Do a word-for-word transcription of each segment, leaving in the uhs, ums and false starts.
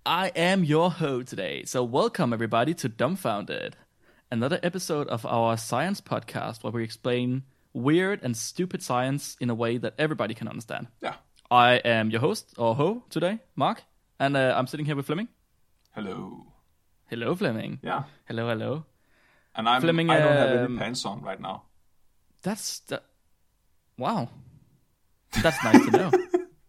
I am your host today. So welcome everybody to Dumbfounded, another episode of our science podcast where we explain weird and stupid science in a way that everybody can understand. Yeah. I am your host, or ho, today, Mark, and uh, I'm sitting here with Flemming. Hello. Hello, Flemming. Yeah. Hello, hello. And I'm, Fleming, I don't have any um, pants on right now. That's... That, wow. That's nice to know.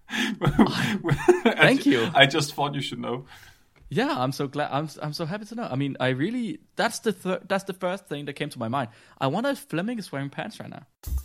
Thank you. I just thought you should know. Yeah, I'm so glad. I'm I'm so happy to know. I mean, I really that's the thir- that's the first thing that came to my mind. I wonder if Flemming is wearing pants right now.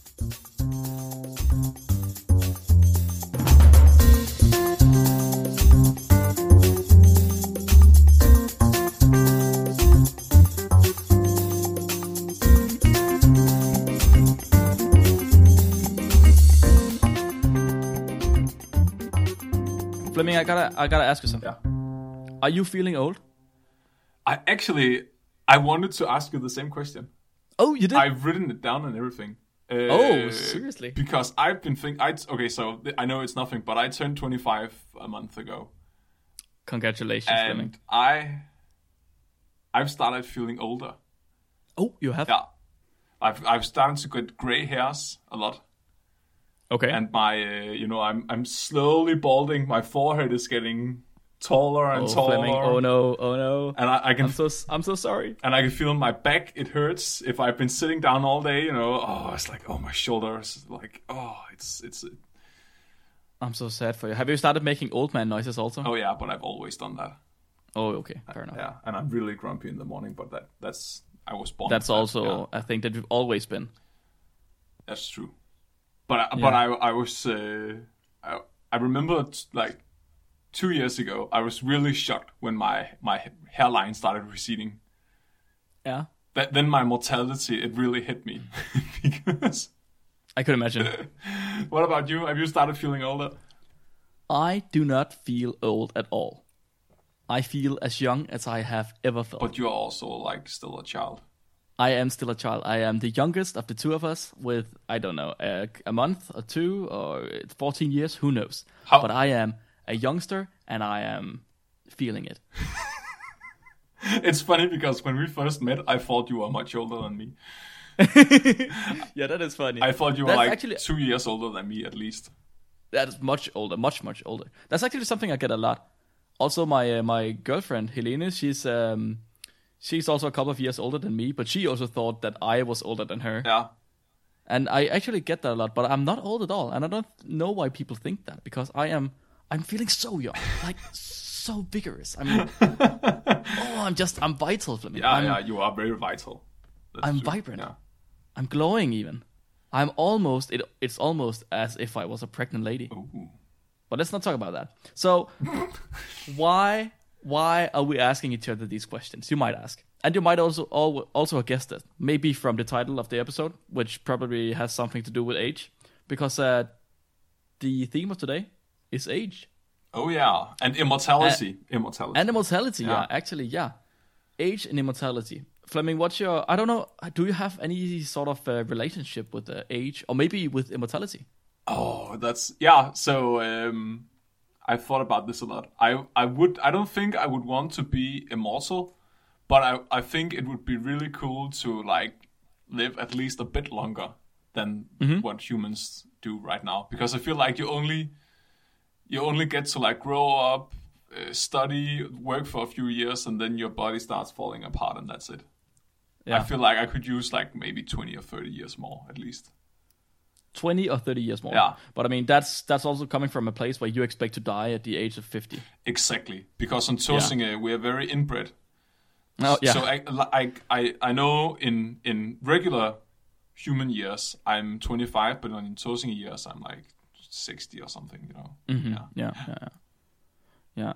Flemming, I gotta I gotta ask you something. Yeah. Are you feeling old? I actually, I wanted to ask you the same question. Oh, you did? I've written it down and everything. Uh, oh, seriously? Because I've been thinking, I okay, so th- I know it's nothing, but I turned twenty-five a month ago. Congratulations, and Flemming. I, I've started feeling older. Oh, you have? Yeah. I've I've started to get gray hairs a lot. Okay. And my, uh, you know, I'm I'm slowly balding. My forehead is getting taller and oh, taller. Flemming. Oh no! Oh no! And I, I can. I'm so I'm so sorry. And I can feel my back. It hurts if I've been sitting down all day. You know, oh, it's like oh my shoulders, like oh, it's it's. I'm so sad for you. Have you started making old man noises also? Oh yeah, but I've always done that. Oh, okay, fair enough. Yeah, and I'm really grumpy in the morning, but that that's I was born. That's with that, also yeah. a thing that you've always been. That's true. But I, Yeah. but I I was uh, I I remember t- like two years ago I was really shocked when my my hairline started receding. Yeah. That then my mortality it really hit me because I could imagine. What about you? Have you started feeling older? I do not feel old at all. I feel as young as I have ever felt. But you're also like still a child. I am still a child. I am the youngest of the two of us with, I don't know, a, a month or two or fourteen years, who knows. How- But I am a youngster and I am feeling it. It's funny because when we first met, I thought you were much older than me. Yeah, that is funny. I thought you were That's like actually, two years older than me at least. that is much older, much, much older. That's actually something I get a lot. Also, my uh, my girlfriend, Helene, she's... um. She's also a couple of years older than me, but she also thought that I was older than her. Yeah. And I actually get that a lot, but I'm not old at all. And I don't know why people think that, because I am, I'm feeling so young, like so vigorous. I mean, oh, I'm just, I'm vital, Flemming. Yeah, I'm, yeah, you are very vital. That's I'm true. vibrant. Yeah. I'm glowing even. I'm almost, it, it's almost as if I was a pregnant lady. Ooh. But let's not talk about that. So, why... Why are we asking each other these questions? You might ask. And you might also also have guessed it. Maybe from the title of the episode, which probably has something to do with age. Because uh, the theme of today is age. Oh, yeah. And immortality. Uh, immortality. And immortality, yeah. Yeah. Actually, yeah. Age and immortality. Flemming, what's your... I don't know. Do you have any sort of uh, relationship with uh, age? Or maybe with immortality? Oh, that's... Yeah, so... Um, I thought about this a lot. I I would I don't think I would want to be immortal, but I, I think it would be really cool to like live at least a bit longer than Mm-hmm. what humans do right now. Because I feel like you only you only get to like grow up, uh, study, work for a few years, and then your body starts falling apart, and that's it. Yeah. I feel like I could use like maybe twenty or thirty years more at least. twenty or thirty years more. Yeah. But I mean, that's that's also coming from a place where you expect to die at the age of fifty. Exactly, because on Tåsinge we are very inbred. Oh, yeah. So I, I, I, I know in in regular human years I'm twenty-five, but in Tåsinge years I'm like sixty or something, you know. Mm-hmm. Yeah. Yeah, yeah, yeah. yeah.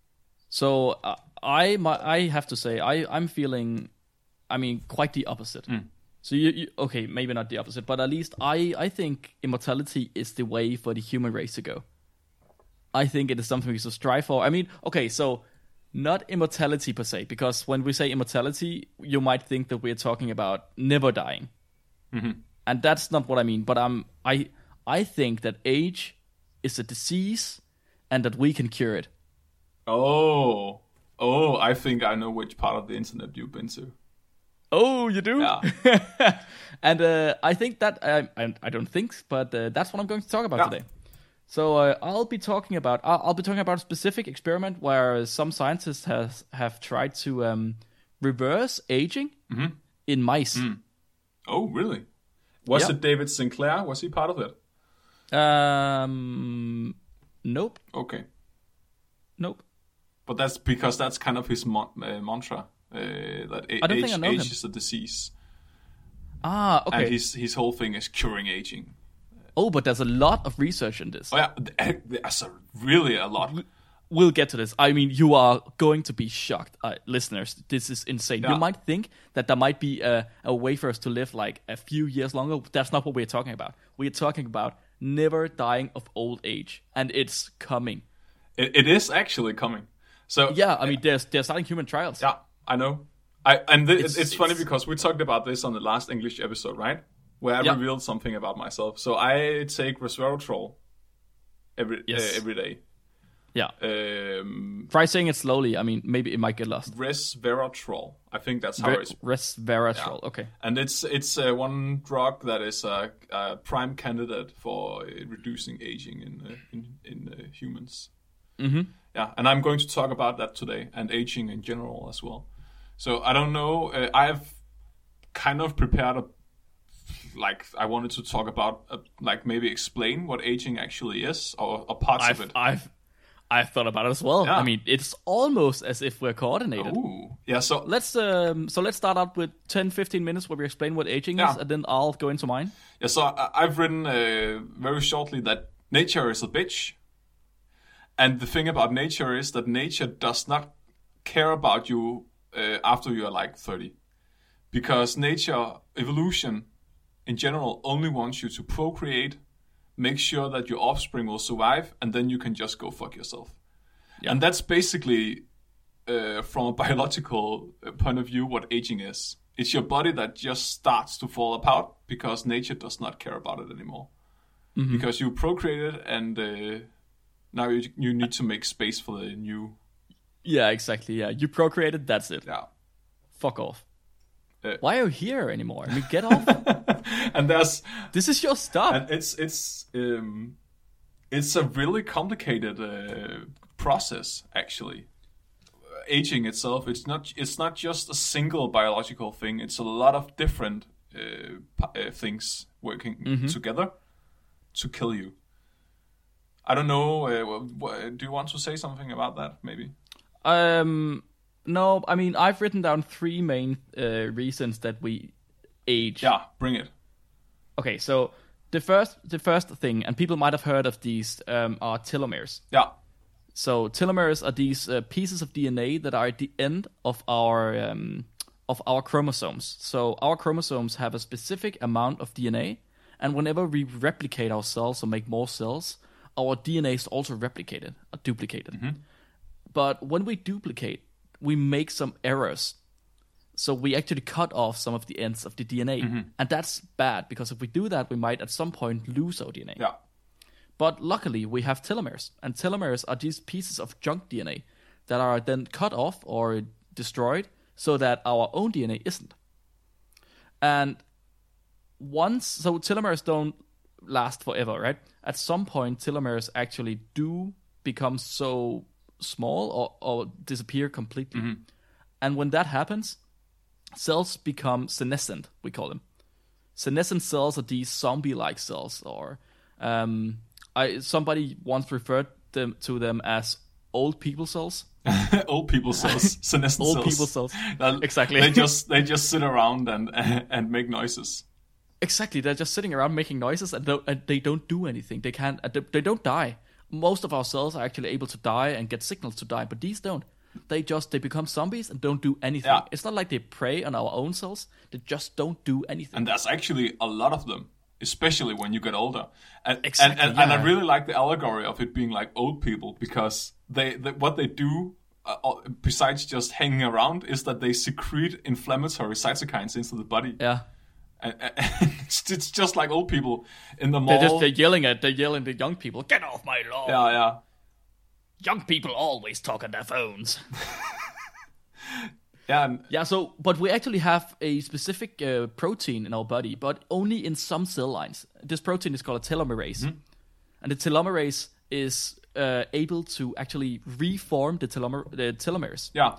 So uh, I my, I have to say I I'm feeling, I mean, quite the opposite. Mm. So you, you okay, maybe not the opposite, but at least I I think immortality is the way for the human race to go. I think it is something we should strive for. I mean, okay, so not immortality per se, because when we say immortality, you might think that we're talking about never dying. Mm-hmm. And that's not what I mean, but um, I I think that age is a disease and that we can cure it. Oh, oh, I think I know which part of the internet you've been to. Oh, you do? Yeah. And uh, I think that, I, I, I don't think, but uh, that's what I'm going to talk about Yeah. today. So uh, I'll be talking about, I'll, I'll be talking about a specific experiment where some scientists has, have tried to um, reverse aging Mm-hmm. in mice. Mm. Oh, really? Was Yeah. it David Sinclair? Was he part of it? Um, nope, Okay. nope. But that's because that's kind of his mon- uh, mantra. Uh, that a- I don't age, think I know age him. is a disease. Ah, okay. And his, his whole thing is curing aging. Oh, but there's a lot of research in this. Oh, yeah. th- There's a, really a lot. We'll get to this. I mean, you are going to be shocked, uh, listeners. This is insane. Yeah. You might think that there might be a, a way for us to live like a few years longer. That's not what we're talking about. We're talking about never dying of old age, and it's coming. It, it is actually coming. So Yeah, I mean, they're, they're starting human trials. yeah, I know. I and th- it's, It's- funny it's- because we talked about this on the last English episode, right? Where I Yeah. revealed something about myself. So I take resveratrol every Yes. uh, every day. Yeah. Um, Try saying it slowly. I mean, maybe it might get lost. resveratrol. I think that's how Re- it's. resveratrol. Okay. And it's it's uh, one drug that is a, a prime candidate for uh, reducing aging in uh, in, in uh, humans. Mm-hmm. Yeah, and I'm going to talk about that today and aging in general as well. So I don't know. Uh, I've kind of prepared a like I wanted to talk about uh, like maybe explain what aging actually is or, or parts I've, of it. I've, I've thought about it as well. Yeah. I mean, it's almost as if we're coordinated. Ooh, yeah. So Let's um, so let's start out with ten, fifteen minutes where we explain what aging Yeah. is, and then I'll go into mine. yeah, so I, I've written uh, very shortly that nature is a bitch, and the thing about nature is that nature does not care about you uh, after you are like thirty, because nature evolution in general only wants you to procreate, make sure that your offspring will survive, and then you can just go fuck yourself. Yeah. And that's basically, uh, from a biological uh, point of view, what aging is. It's your body that just starts to fall apart because nature does not care about it anymore. Mm-hmm. Because you procreated, and uh, now you, you need to make space for the new. Yeah, exactly. Yeah, you procreated. That's it. Yeah. Fuck off. Uh, Why are you here anymore? I mean, get off. And there's This is your stuff. and it's it's um, it's a really complicated uh, process actually. Uh, aging itself, it's not it's not just a single biological thing. It's a lot of different uh, p- uh, things working together to kill you. I don't know. Uh, wh- wh- do you want to say something about that? Maybe. Um, no, I mean, I've written down three main uh, reasons that we age. Yeah, bring it. Okay, so the first, the first thing, and people might have heard of these, um, are telomeres. Yeah. So telomeres are these uh, pieces of D N A that are at the end of our um, of our chromosomes. So our chromosomes have a specific amount of D N A, and whenever we replicate our cells or make more cells, our D N A is also replicated or duplicated. But when we duplicate, we make some errors. So we actually cut off some of the ends of the D N A, and that's bad because if we do that, we might at some point lose our D N A. Yeah. But luckily, we have telomeres, and telomeres are these pieces of junk D N A that are then cut off or destroyed so that our own D N A isn't. And once, so telomeres don't last forever, right? At some point, telomeres actually do become so small or, or disappear completely. And when that happens, cells become senescent, we call them. Senescent cells are these zombie-like cells, or um, I somebody once referred them to them as old people cells. Old people cells, senescent Old cells. people cells. That- Exactly. They just they just sit around and and make noises. Exactly, they're just sitting around making noises, and, don't, and they don't do anything. They can't. uh, They, they don't die. Most of our cells are actually able to die and get signals to die, but these don't. They just they become zombies and don't do anything. Yeah. It's not like they prey on our own cells. They just don't do anything. And there's actually a lot of them, especially when you get older. And Exactly, and, and, and I yeah. really like the allegory of it being like old people, because they, they what they do uh, uh, besides just hanging around is that they secrete inflammatory cytokines into the body. yeah, And, and it's, it's just like old people in the mall. they're just they're yelling at they're yelling at the young people. Get off my lawn! Yeah, yeah. young people always talk on their phones. Yeah, and Yeah, so, but we actually have a specific uh, protein in our body, but only in some cell lines. This protein is called a telomerase. Mm-hmm. And the telomerase is uh, able to actually reform the, telomer- the telomeres. Yeah.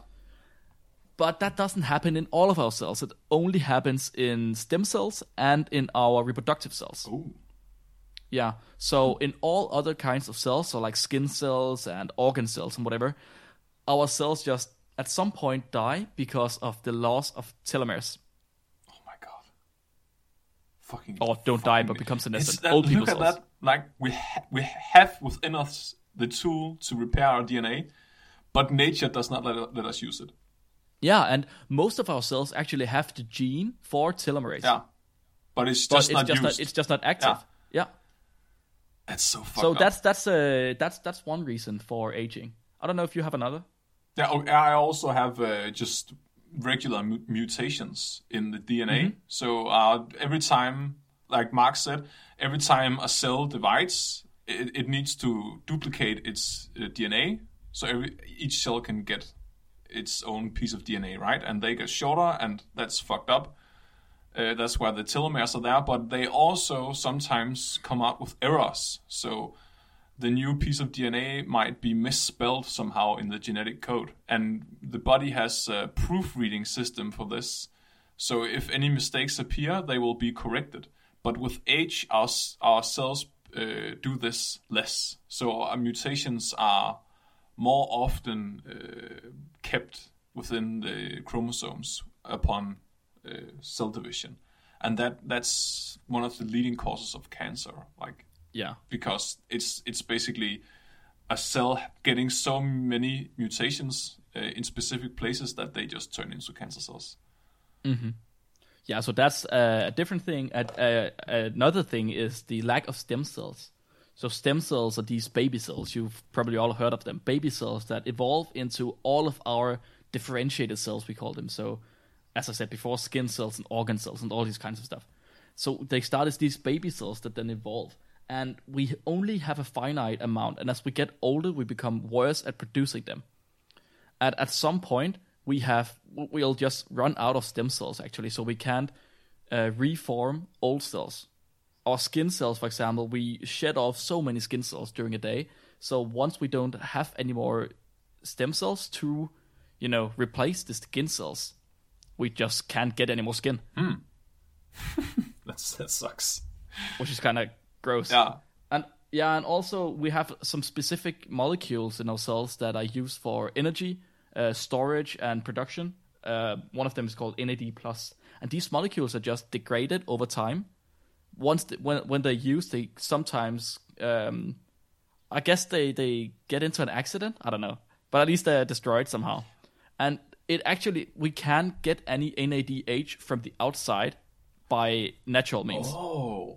But that doesn't happen in all of our cells. It only happens in stem cells and in our reproductive cells. Ooh. Yeah, so in all other kinds of cells, so like skin cells and organ cells and whatever, our cells just at some point die because of the loss of telomeres. Oh my god. Fucking. Or don't fucking die, but become senescent. That, Old look people's at cells. that. Like, we, ha- we have within us the tool to repair our D N A, but nature does not let, let us use it. Yeah, and most of our cells actually have the gene for telomerase. Yeah. But it's but just it's not just used. Not, it's just not active. Yeah. Yeah. That's so fucked So up. that's that's uh, that's that's one reason for aging. I don't know if you have another. Yeah, oh, I also have uh, just regular mu- mutations in the D N A. Mm-hmm. So uh, every time, like Mark said, every time a cell divides, it, it needs to duplicate its uh, D N A. So every, each cell can get its own piece of D N A, right? And they get shorter, and that's fucked up. Uh, that's why the telomeres are there, but they also sometimes come out with errors. So the new piece of D N A might be misspelled somehow in the genetic code. And the body has a proofreading system for this. So if any mistakes appear, they will be corrected. But with age, our, our cells uh, do this less. So our mutations are more often uh, kept within the chromosomes upon uh, cell division. And that that's one of the leading causes of cancer. Like, Yeah. because it's it's basically a cell getting so many mutations uh, in specific places that they just turn into cancer cells. Mm-hmm. Yeah, so that's uh, a different thing. Uh, uh, another thing is the lack of stem cells. So stem cells are these baby cells. You've probably all heard of them. Baby cells that evolve into all of our differentiated cells, we call them. So, as I said before, skin cells and organ cells and all these kinds of stuff. So they start as these baby cells that then evolve. And we only have a finite amount. And as we get older, we become worse at producing them. And at some point, we have we'll just run out of stem cells, actually. So we can't uh, reform old cells. Our skin cells, for example, we shed off so many skin cells during a day. So once we don't have any more stem cells to, you know, replace the skin cells, we just can't get any more skin. Hmm. That's, that sucks. Which is kind of gross. Yeah. And yeah, and also we have some specific molecules in our cells that are used for energy, uh, storage, and production. Uh, one of them is called N A D plus, and these molecules are just degraded over time. Once the, when when they're used, they sometimes, um, I guess they they get into an accident. I don't know, but at least they're destroyed somehow. And it actually we can't get any N A D H from the outside by natural means. Oh.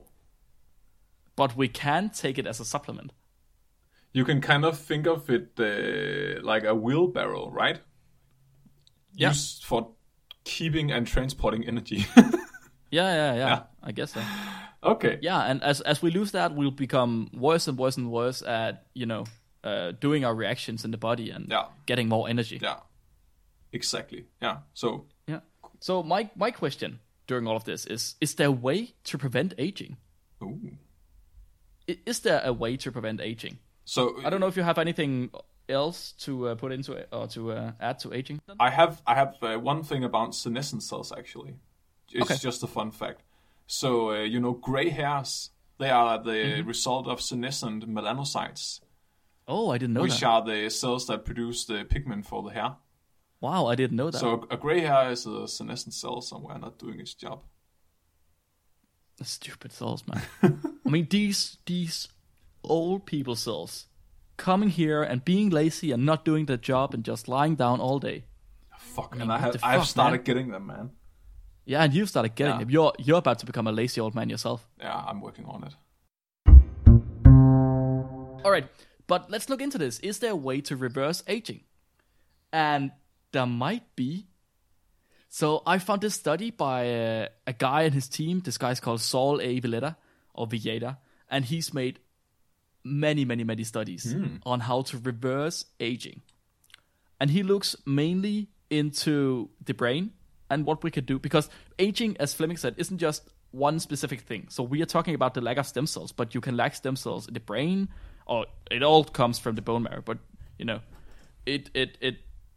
But we can take it as a supplement. You can kind of think of it uh, like a wheelbarrow, right? Yeah. Used for keeping and transporting energy. Yeah, yeah, yeah, Yeah. I guess so. Okay. Yeah, and as as we lose that, we'll become worse and worse and worse at, you know, uh, doing our reactions in the body and Yeah. getting more energy. Yeah. Exactly. Yeah. So Yeah. So my my question during all of this is: Is there a way to prevent aging? ooh. I- Is there a way to prevent aging? So I don't know if you have anything else to uh, put into it or to uh, add to aging. I have I have uh, one thing about senescent cells actually. It's Okay. just a fun fact. So uh, you know, gray hairs, they are the Mm-hmm. result of senescent melanocytes, Oh, I didn't know which that. are the cells that produce the pigment for the hair. Wow, I didn't know that. So a, a gray hair is a senescent cell somewhere not doing its job. Stupid cells, man. I mean, these these old people cells coming here and being lazy and not doing their job and just lying down all day. Fuck, I mean, and I what have the I've fuck, started man? getting them, man. Yeah, and you've started getting Yeah. them. You're you're about to become a lazy old man yourself. Yeah, I'm working on it. All right, but let's look into this. Is there a way to reverse aging? And there might be. So I found this study by uh, a guy and his team. This guy's called Saul A. Villeta, or Villeta, and he's made many, many, many studies Hmm. on how to reverse aging. And he looks mainly into the brain and what we could do. Because aging, as Fleming said, isn't just one specific thing. So we are talking about the lack of stem cells, but you can lack stem cells in the brain, or it all comes from the bone marrow. But, you know, it it it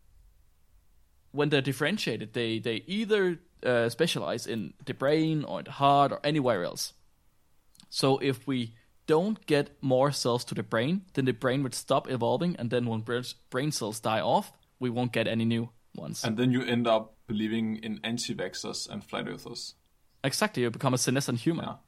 when they're differentiated, they, they either uh, specialize in the brain or the heart or anywhere else. So if we don't get more cells to the brain, then the brain would stop evolving, and then when brain cells die off, we won't get any new ones. And then you end up believing in anti-vaxxers and flat earthers. Exactly, you become a senescent human. Yeah.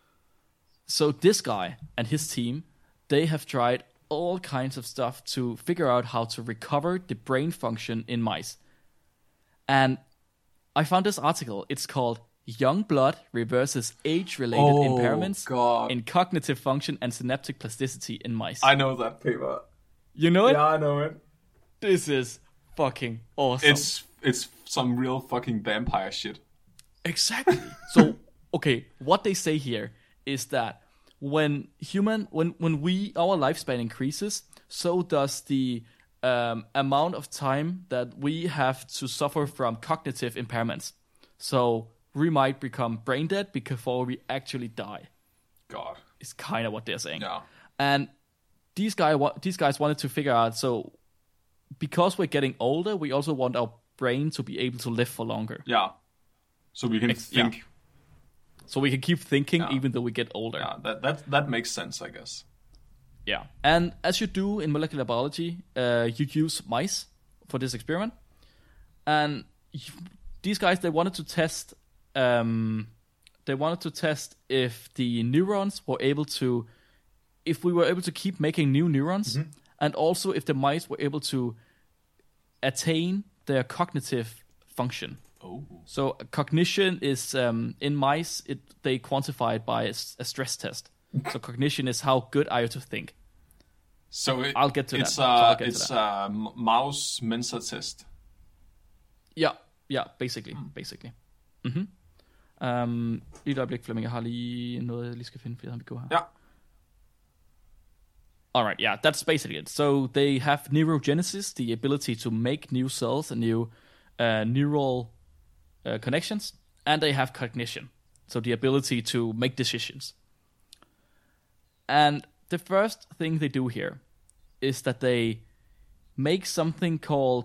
So this guy and his team, they have tried all kinds of stuff to figure out how to recover the brain function in mice. And I found this article. It's called Young Blood Reverses Age-Related Oh, Impairments God. in Cognitive Function and Synaptic Plasticity in Mice. I know that paper. You know it? Yeah, I know it. This is fucking awesome. It's it's some real fucking vampire shit. Exactly. So, okay, what they say here is that when human, when when we our lifespan increases, so does the um, amount of time that we have to suffer from cognitive impairments. So we might become brain dead before we actually die. God. Is kind of what they're saying. Yeah. And these guy, these guys wanted to figure out. So because we're getting older, we also want our brain to be able to live for longer. Yeah. So we can Ex- think. yeah. So we can keep thinking Yeah. even though we get older. Yeah, that that that makes sense, I guess. Yeah. And as you do in molecular biology, uh, you use mice for this experiment. And you, these guys, they wanted to test, um, they wanted to test if the neurons were able to, if we were able to keep making new neurons, Mm-hmm. and also if the mice were able to attain their cognitive function. Oh. So cognition is um, in mice. It they quantify it by a, s- a stress test. So cognition is how good are you to think. So it, I'll get to it's that. So I'll a get to it's that. a m- mouse Mensa test. Ja, ja, basically, basically. Mhm. Um, lige et øjeblik, Flemming. Jeg har lige noget, jeg lige skal finde, for vi går her. Ja. All right, yeah, that's basically it. So they have neurogenesis, the ability to make new cells and new uh, neural uh, connections, and they have cognition, so the ability to make decisions. And the first thing they do here is that they make something called,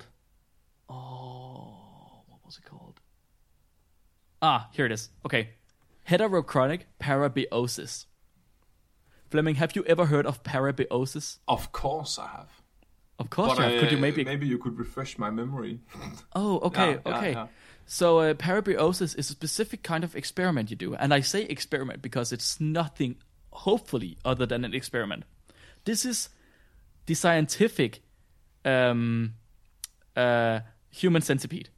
oh, what was it called? Ah, here it is. Okay, heterochronic parabiosis. Fleming, have you ever heard of parabiosis? Of course I have. Of course But you have. Could you uh, maybe... maybe you could refresh my memory? Oh, okay, Yeah, yeah, okay. yeah. So uh, parabiosis is a specific kind of experiment you do. And I say experiment because it's nothing, hopefully, other than an experiment. This is the scientific um, uh, human centipede.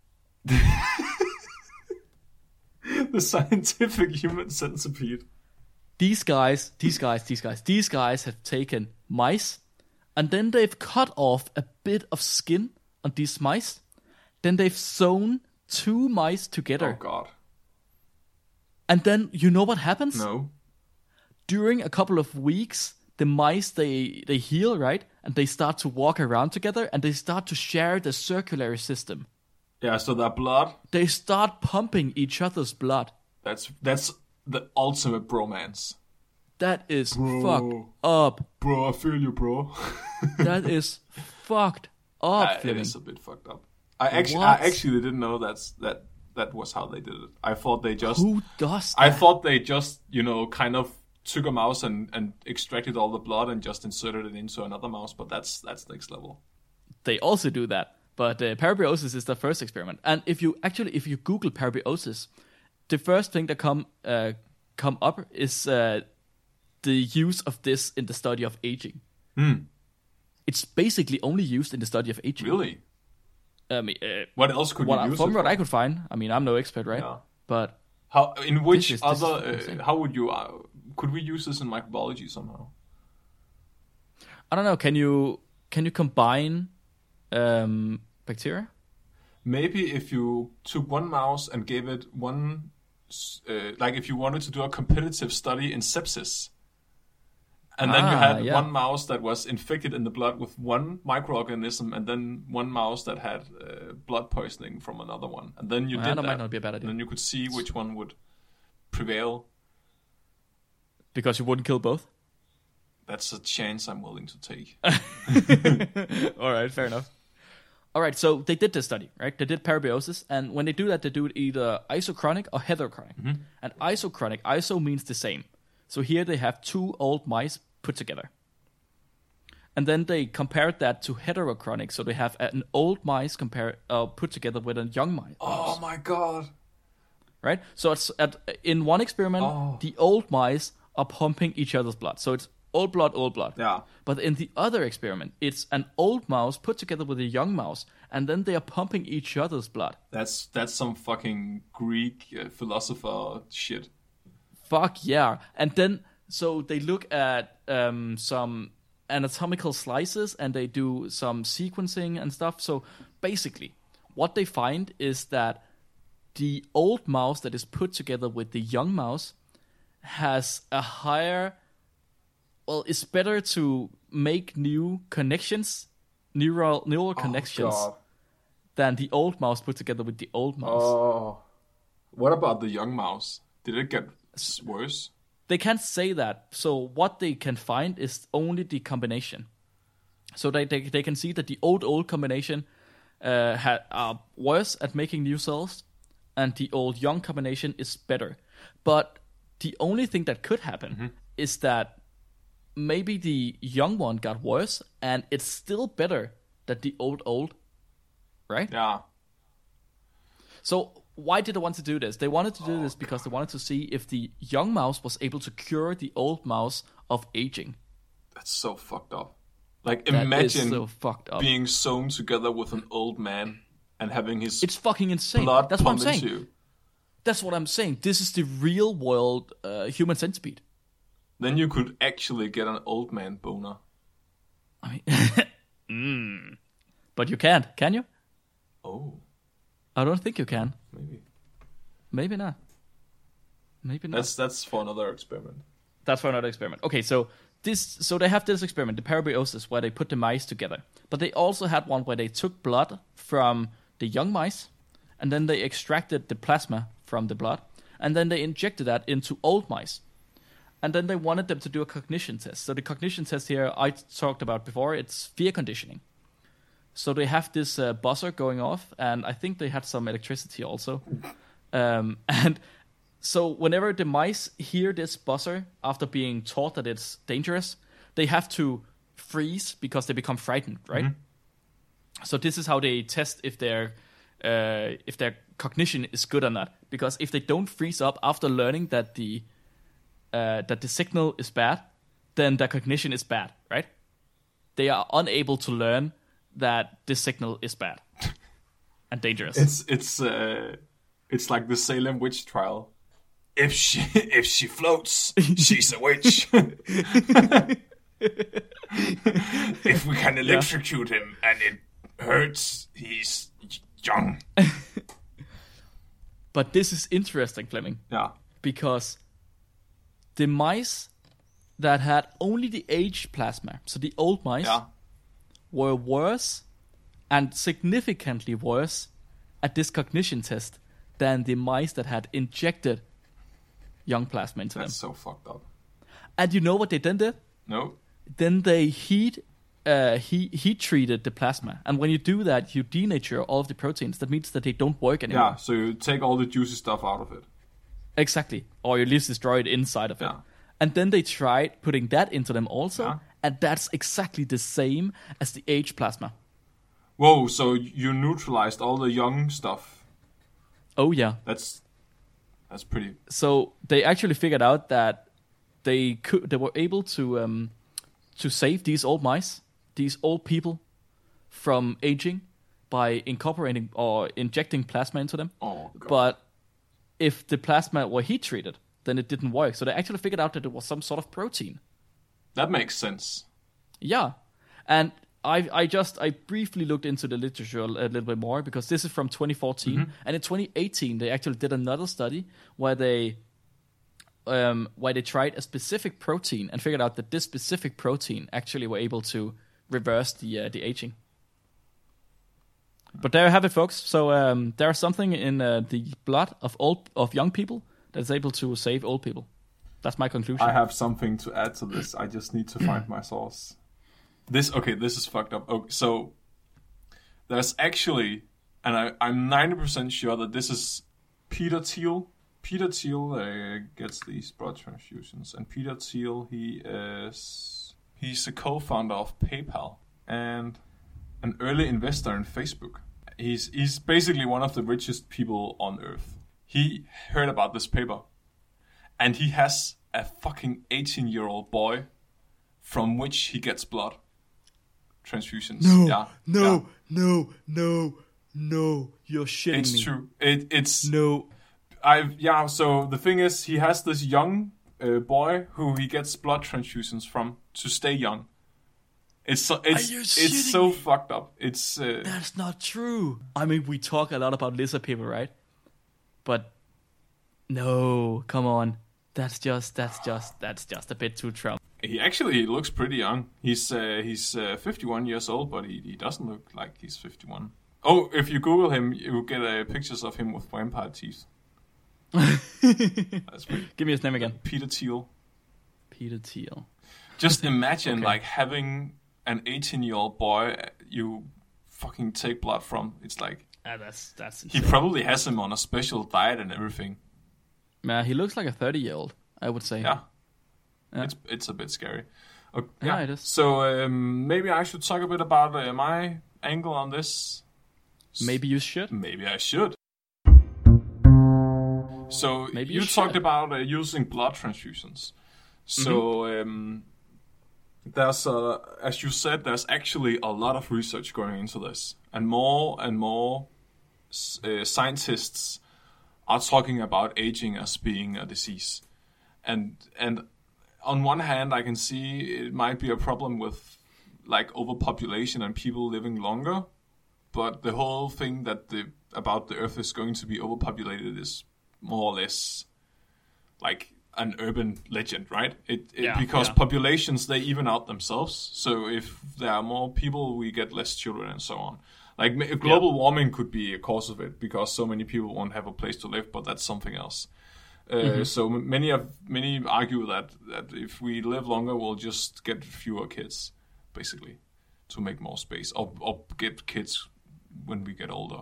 The scientific human centipede. These guys, these guys, these guys, these guys have taken mice, and then they've cut off a bit of skin on these mice. Then they've sewn two mice together. Oh God. And then you know what happens? No. During a couple of weeks, the mice, they, they heal, right? And they start to walk around together, and they start to share the circulatory system. Yeah, so that blood, They start pumping each other's blood. that's that's the ultimate bromance. That is Bro. fucked up. Bro, I feel you, bro. That is fucked up, Uh, it Fleming. is a bit fucked up. I actually, What? I actually didn't know that's that that was how they did it. I thought they just, Who does I that? thought they just, you know, kind of took a mouse and, and extracted all the blood and just inserted it into another mouse. But that's that's next level. They also do that. But uh, parabiosis is the first experiment. And if you actually, if you Google parabiosis, the first thing that come uh, come up is uh, the use of this in the study of aging. Hmm. It's basically only used in the study of aging. Really? I mean, uh, What else could what you I, use from it what for? I could find. I mean, I'm no expert, right? Yeah. But How in which This is- this is other? insane. Uh, how would you? Uh, could we use this in microbiology somehow? I don't know. Can you can you combine um, bacteria? Maybe if you took one mouse and gave it one, uh, like if you wanted to do a competitive study in sepsis, And then you Ah, had yeah. one mouse that was infected in the blood with one microorganism, and then one mouse that had uh, blood poisoning from another one. And then you Ah, did that that. might not be a bad idea. And then you could see which one would prevail. Because you wouldn't kill both? That's a chance I'm willing to take. All right, fair enough. All right, so they did this study, right? They did parabiosis, and when they do that, they do it either isochronic or heterochronic. Mm-hmm. And isochronic, iso means the same. So here they have two old mice put together. And then they compared that to heterochronic, so they have an old mice compare, uh, put together with a young mice. Oh my god. Right? So it's at, in one experiment, Oh. the old mice are pumping each other's blood. So it's old blood, old blood. Yeah. But in the other experiment, it's an old mouse put together with a young mouse, and then they are pumping each other's blood. That's that's some fucking Greek uh, philosopher shit. Fuck yeah. And then, so they look at um, some anatomical slices, and they do some sequencing and stuff. So basically, what they find is that the old mouse that is put together with the young mouse has a higher, well, it's better to make new connections, neural neural connections, Oh, God. than the old mouse put together with the old mouse. Oh. What about the young mouse? Did it get s- worse? They can't say that. So what they can find is only the combination. So they they, they can see that the old old combination uh, had, are worse at making new cells, and the old young combination is better. But the only thing that could happen Mm-hmm. is that maybe the young one got worse, and it's still better than the old old, right? Yeah. So why did they want to do this? They wanted to do this because they wanted to see if the young mouse was able to cure the old mouse of aging. That's so fucked up. Like, That imagine is so fucked up. being sewn together with an old man and having his It's fucking insane. blood That's what I'm pump saying. into you. That's what I'm saying. This is the real world uh, human centipede. Then you could actually get an old man boner. I mean, mm. But you can't, can you? Oh, I don't think you can. maybe. Maybe not. Maybe not. That's that's for another experiment. That's for another experiment. Okay, so this, so they have this experiment, the parabiosis, where they put the mice together. But they also had one where they took blood from the young mice, and then they extracted the plasma from the blood, and then they injected that into old mice. And then they wanted them to do a cognition test. So the cognition test here I talked about before, it's fear conditioning. So they have this uh, buzzer going off, and I think they had some electricity also. Um, and so whenever the mice hear this buzzer after being taught that it's dangerous, they have to freeze because they become frightened, right? Mm-hmm. So this is how they test if their uh, if their cognition is good or not. Because if they don't freeze up after learning that the uh, that the signal is bad, then their cognition is bad, right? They are unable to learn that this signal is bad and dangerous. It's it's uh, it's like the Salem witch trial. If she if she floats, she's a witch. If we can electrocute yeah. him and it hurts, he's young. But this is interesting, Fleming. Yeah. Because the mice that had only the age plasma, so the old mice, yeah. were worse and significantly worse at this cognition test than the mice that had injected young plasma into That's them. That's so fucked up. And you know what they then did? No. Then they heat uh, heat, heat treated the plasma. And when you do that, you denature all of the proteins. That means that they don't work anymore. Yeah, so you take all the juicy stuff out of it. Exactly. Or you at least destroy it inside of it. Yeah. And then they tried putting that into them also. Yeah. And that's exactly the same as the age plasma. Whoa, so you neutralized all the young stuff. Oh, yeah. That's that's pretty... So they actually figured out that they could, they were able to um, to save these old mice, these old people, from aging by incorporating or injecting plasma into them. Oh, God. But if the plasma were heat treated, then it didn't work. So they actually figured out that it was some sort of protein. That makes sense. Yeah. And I I just, I briefly looked into the literature a little bit more because this is from twenty fourteen. Mm-hmm. And in twenty eighteen, they actually did another study where they um, where they tried a specific protein and figured out that this specific protein actually were able to reverse the uh, the aging. But there you have it, folks. So um, there's something in uh, the blood of old of young people that's able to save old people. That's my conclusion. I have something to add to this. I just need to find my source. This okay. This is fucked up. Okay, so there's actually, and I, I'm ninety percent sure that this is Peter Thiel. Peter Thiel uh, gets these blood transfusions, and Peter Thiel he is he's a co-founder of PayPal and an early investor in Facebook. He's he's basically one of the richest people on earth. He heard about this paper, and he has a fucking eighteen-year-old boy from which he gets blood transfusions. No, yeah, no, yeah. no, no, no. You're shitting It's me. true. It it's No. I've yeah. So the thing is, he has this young uh, boy who he gets blood transfusions from to stay young. It's so it's you it's shitting so me? fucked up. It's uh, That's not true. I mean, we talk a lot about lizard people, right? But no, come on. That's just that's just that's just a bit too Trump. he actually looks pretty young. He's uh, he's uh, fifty-one years old, but he, he doesn't look like he's fifty-one. Oh, if you Google him, you get uh, pictures of him with vampire teeth. That's pretty. Give me his name again. Peter Thiel. Peter Thiel. Just imagine Okay. like having an eighteen-year-old boy you fucking take blood from. It's like Ah, that's that's. he Insane. probably has him on a special diet and everything. Yeah, he looks like a thirty-year-old. I would say. Yeah, Yeah. it's it's a bit scary. Okay, Yeah, yeah, it is. So um, maybe I should talk a bit about uh, my angle on this. Maybe you should. Maybe I should. So Maybe you you talked should. about uh, using blood transfusions. So um, there's, uh, as you said, there's actually a lot of research going into this, and more and more uh, scientists are talking about aging as being a disease. And and on one hand, I can see it might be a problem with like overpopulation and people living longer. But the whole thing that the about the Earth is going to be overpopulated is more or less like an urban legend, right? It, it Yeah, because yeah. populations they even out themselves. So if there are more people, we get less children and so on. Like ma- global warming could be a cause of it because so many people won't have a place to live, but that's something else. Uh, Mm-hmm. So m- many of many argue that that if we live longer, we'll just get fewer kids, basically, to make more space, or, or get kids when we get older.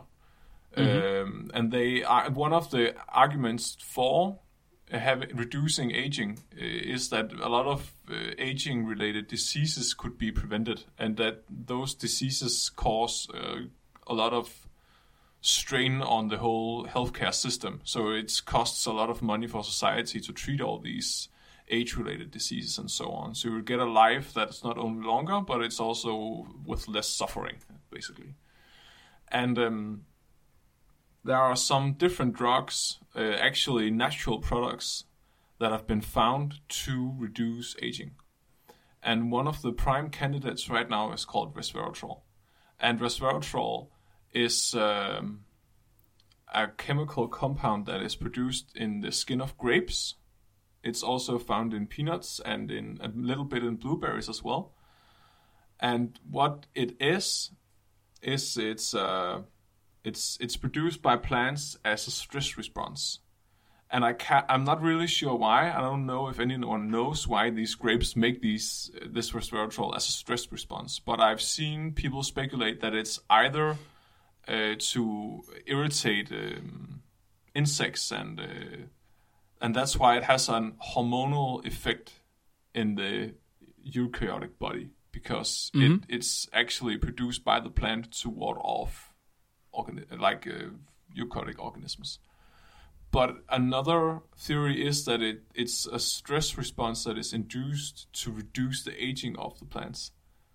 Um, and they are one of the arguments for have reducing aging uh, is that a lot of uh, aging related diseases could be prevented, and that those diseases cause uh, a lot of strain on the whole healthcare system. So it costs a lot of money for society to treat all these age-related diseases and so on. So you get a life that's not only longer, but it's also with less suffering, basically. And um, there are some different drugs, uh, actually natural products, that have been found to reduce aging. And one of the prime candidates right now is called resveratrol. And resveratrol is um, a chemical compound that is produced in the skin of grapes. It's also found in peanuts and in a little bit in blueberries as well. And what it is, is it's uh, it's it's produced by plants as a stress response. And I can't, I'm not really sure why. I don't know if anyone knows why these grapes make these uh, this resveratrol as a stress response. But I've seen people speculate that it's either uh, to irritate um, insects, and uh, and that's why it has an hormonal effect in the eukaryotic body, because Mhm. it, it's actually produced by the plant to ward off organi- like uh, eukaryotic organisms. But another theory is that it, it's a stress response that is induced to reduce the aging of the plants.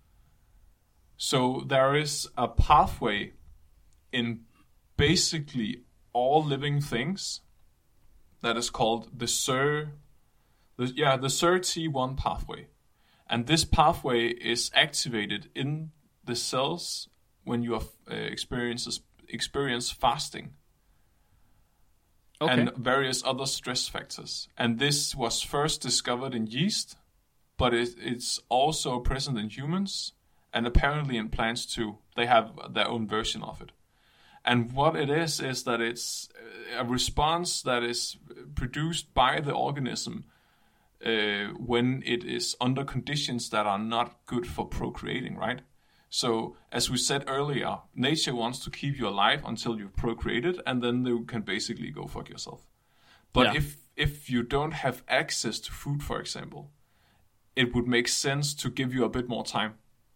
So there is a pathway in basically all living things that is called the S I R, the, yeah, the S I R T one pathway. And this pathway is activated in the cells when you have, uh, experiences, experience fasting. Okay. and various other stress factors. And this was first discovered in yeast, but it, it's also present in humans and apparently in plants too. They have their own version of it. And what it is, is that it's a response that is produced by the organism uh, when it is under conditions that are not good for procreating, right? So, as we said earlier, nature wants to keep you alive until you've procreated, and then you can basically go fuck yourself. But Yeah. if if you don't have access to food, for example, it would make sense to give you a bit more time.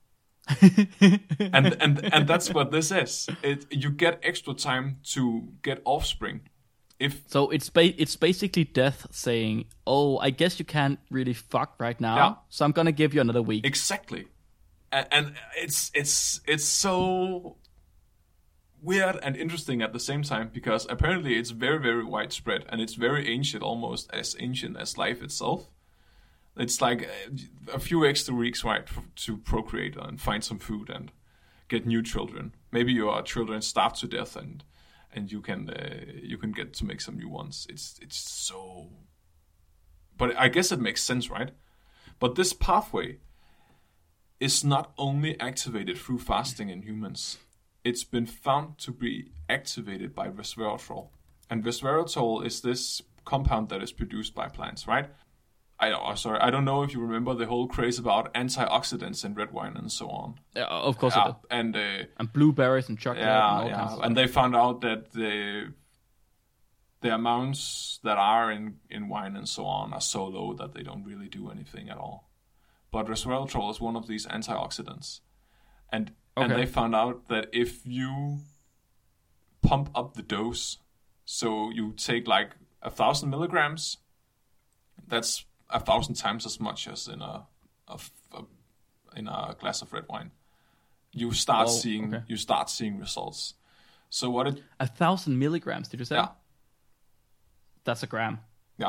and and and that's what this is. It you get extra time to get offspring. If So it's ba- it's basically death saying, "Oh, I guess you can't really fuck right now, Yeah. so I'm gonna give you another week." exactly, and, and it's it's it's so weird and interesting at the same time, because apparently it's very very widespread and it's very ancient, almost as ancient as life itself. It's like a few extra weeks, right, f- to procreate and find some food and get new children. Maybe your children starve to death, and and you can uh, you can get to make some new ones. It's it's so, but I guess it makes sense, right? But this pathway is not only activated through fasting in humans. It's been found to be activated by resveratrol, and resveratrol is this compound that is produced by plants, right? I oh, sorry, I don't know if you remember the whole craze about antioxidants in red wine and so on. Yeah, of course I Yeah, do. and uh, And blueberries and chocolate and yeah, all kinds of yeah, stuff. and they found out that the the amounts that are in in wine and so on are so low that they don't really do anything at all. But resveratrol is one of these antioxidants, and and Okay. they found out that if you pump up the dose, so you take like a thousand milligrams, that's a thousand times as much as in a, a, a in a glass of red wine. You start Oh, seeing okay. you start seeing results. So what it A thousand milligrams, did you say? yeah That's a gram. yeah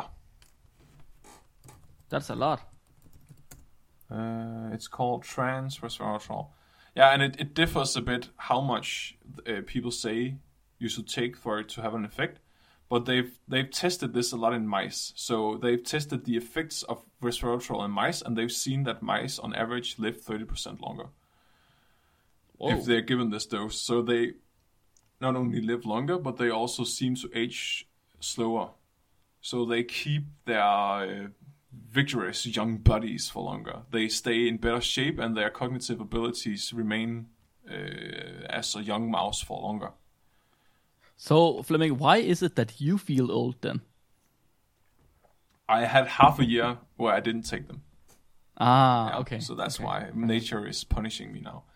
That's a lot. uh, it's called trans resveratrol. Yeah, and it, it differs a bit how much uh, people say you should take for it to have an effect. But they've they've tested this a lot in mice. So they've tested the effects of resveratrol in mice, and they've seen that mice on average live thirty percent longer Whoa. if they're given this dose. So they not only live longer, but they also seem to age slower. So they keep their uh, vigorous young bodies for longer. They stay in better shape, and their cognitive abilities remain uh, as a young mouse for longer. So, Fleming, why is it that you feel old then? I had half a year where I didn't take them. Ah, Yeah, okay. So that's okay. why nature is punishing me now.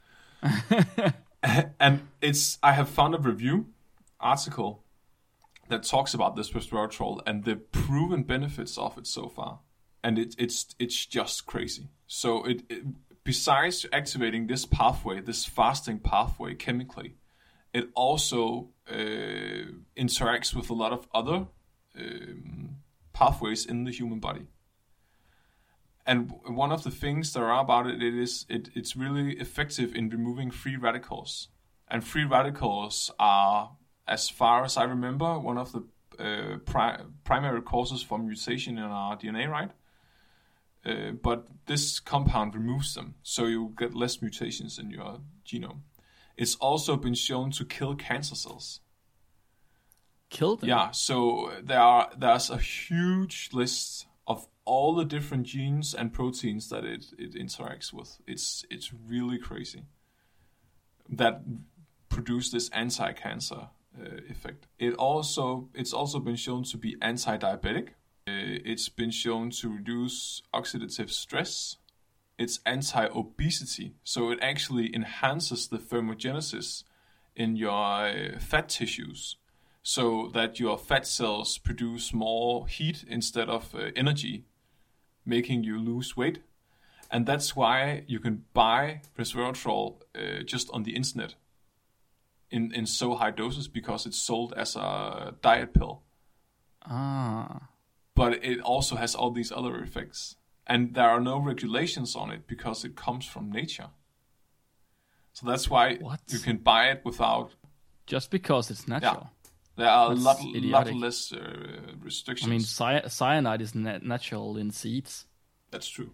And it's I have found a review article that talks about this resveratrol and the proven benefits of it so far, and it, it's it's just crazy. So it, it besides activating this pathway, this fasting pathway chemically, it also uh, interacts with a lot of other um, pathways in the human body. And one of the things there are about it, it is it, it's really effective in removing free radicals. And free radicals are, as far as I remember, one of the uh, pri- primary causes for mutation in our D N A, right? Uh, but this compound removes them, so you get less mutations in your genome. It's also been shown to kill cancer cells. Kill them? Yeah, so there are there's a huge list of all the different genes and proteins that it, it interacts with. It's it's really crazy. That produce this anti-cancer uh, effect. It also it's also been shown to be anti-diabetic. Uh, it's been shown to reduce oxidative stress. It's anti-obesity, so it actually enhances the thermogenesis in your uh, fat tissues, so that your fat cells produce more heat instead of uh, energy, making you lose weight. And that's why you can buy resveratrol uh, just on the internet in, in so high doses, because it's sold as a diet pill. Ah. But it also has all these other effects. And there are no regulations on it because it comes from nature. So that's why What? you can buy it without... Just because it's natural. There are That's a lot, lot idiotic. less uh, restrictions. I mean, cy- cyanide is na- natural in seeds. That's true.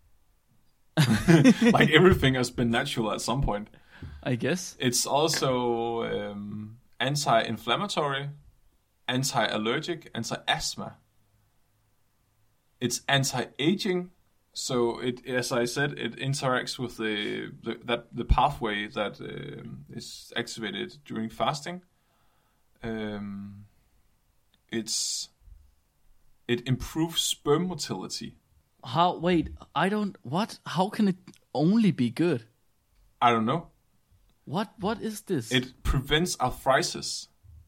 Like everything has been natural at some point. I guess. It's also um, anti-inflammatory, anti-allergic, anti-asthma. It's anti-aging. So it, as I said, it interacts with the, the that the pathway that um, is activated during fasting. Um, it's it improves sperm motility. How? Wait, I don't. What? How can it only be good? I don't know. What? What is this? It prevents arthritis.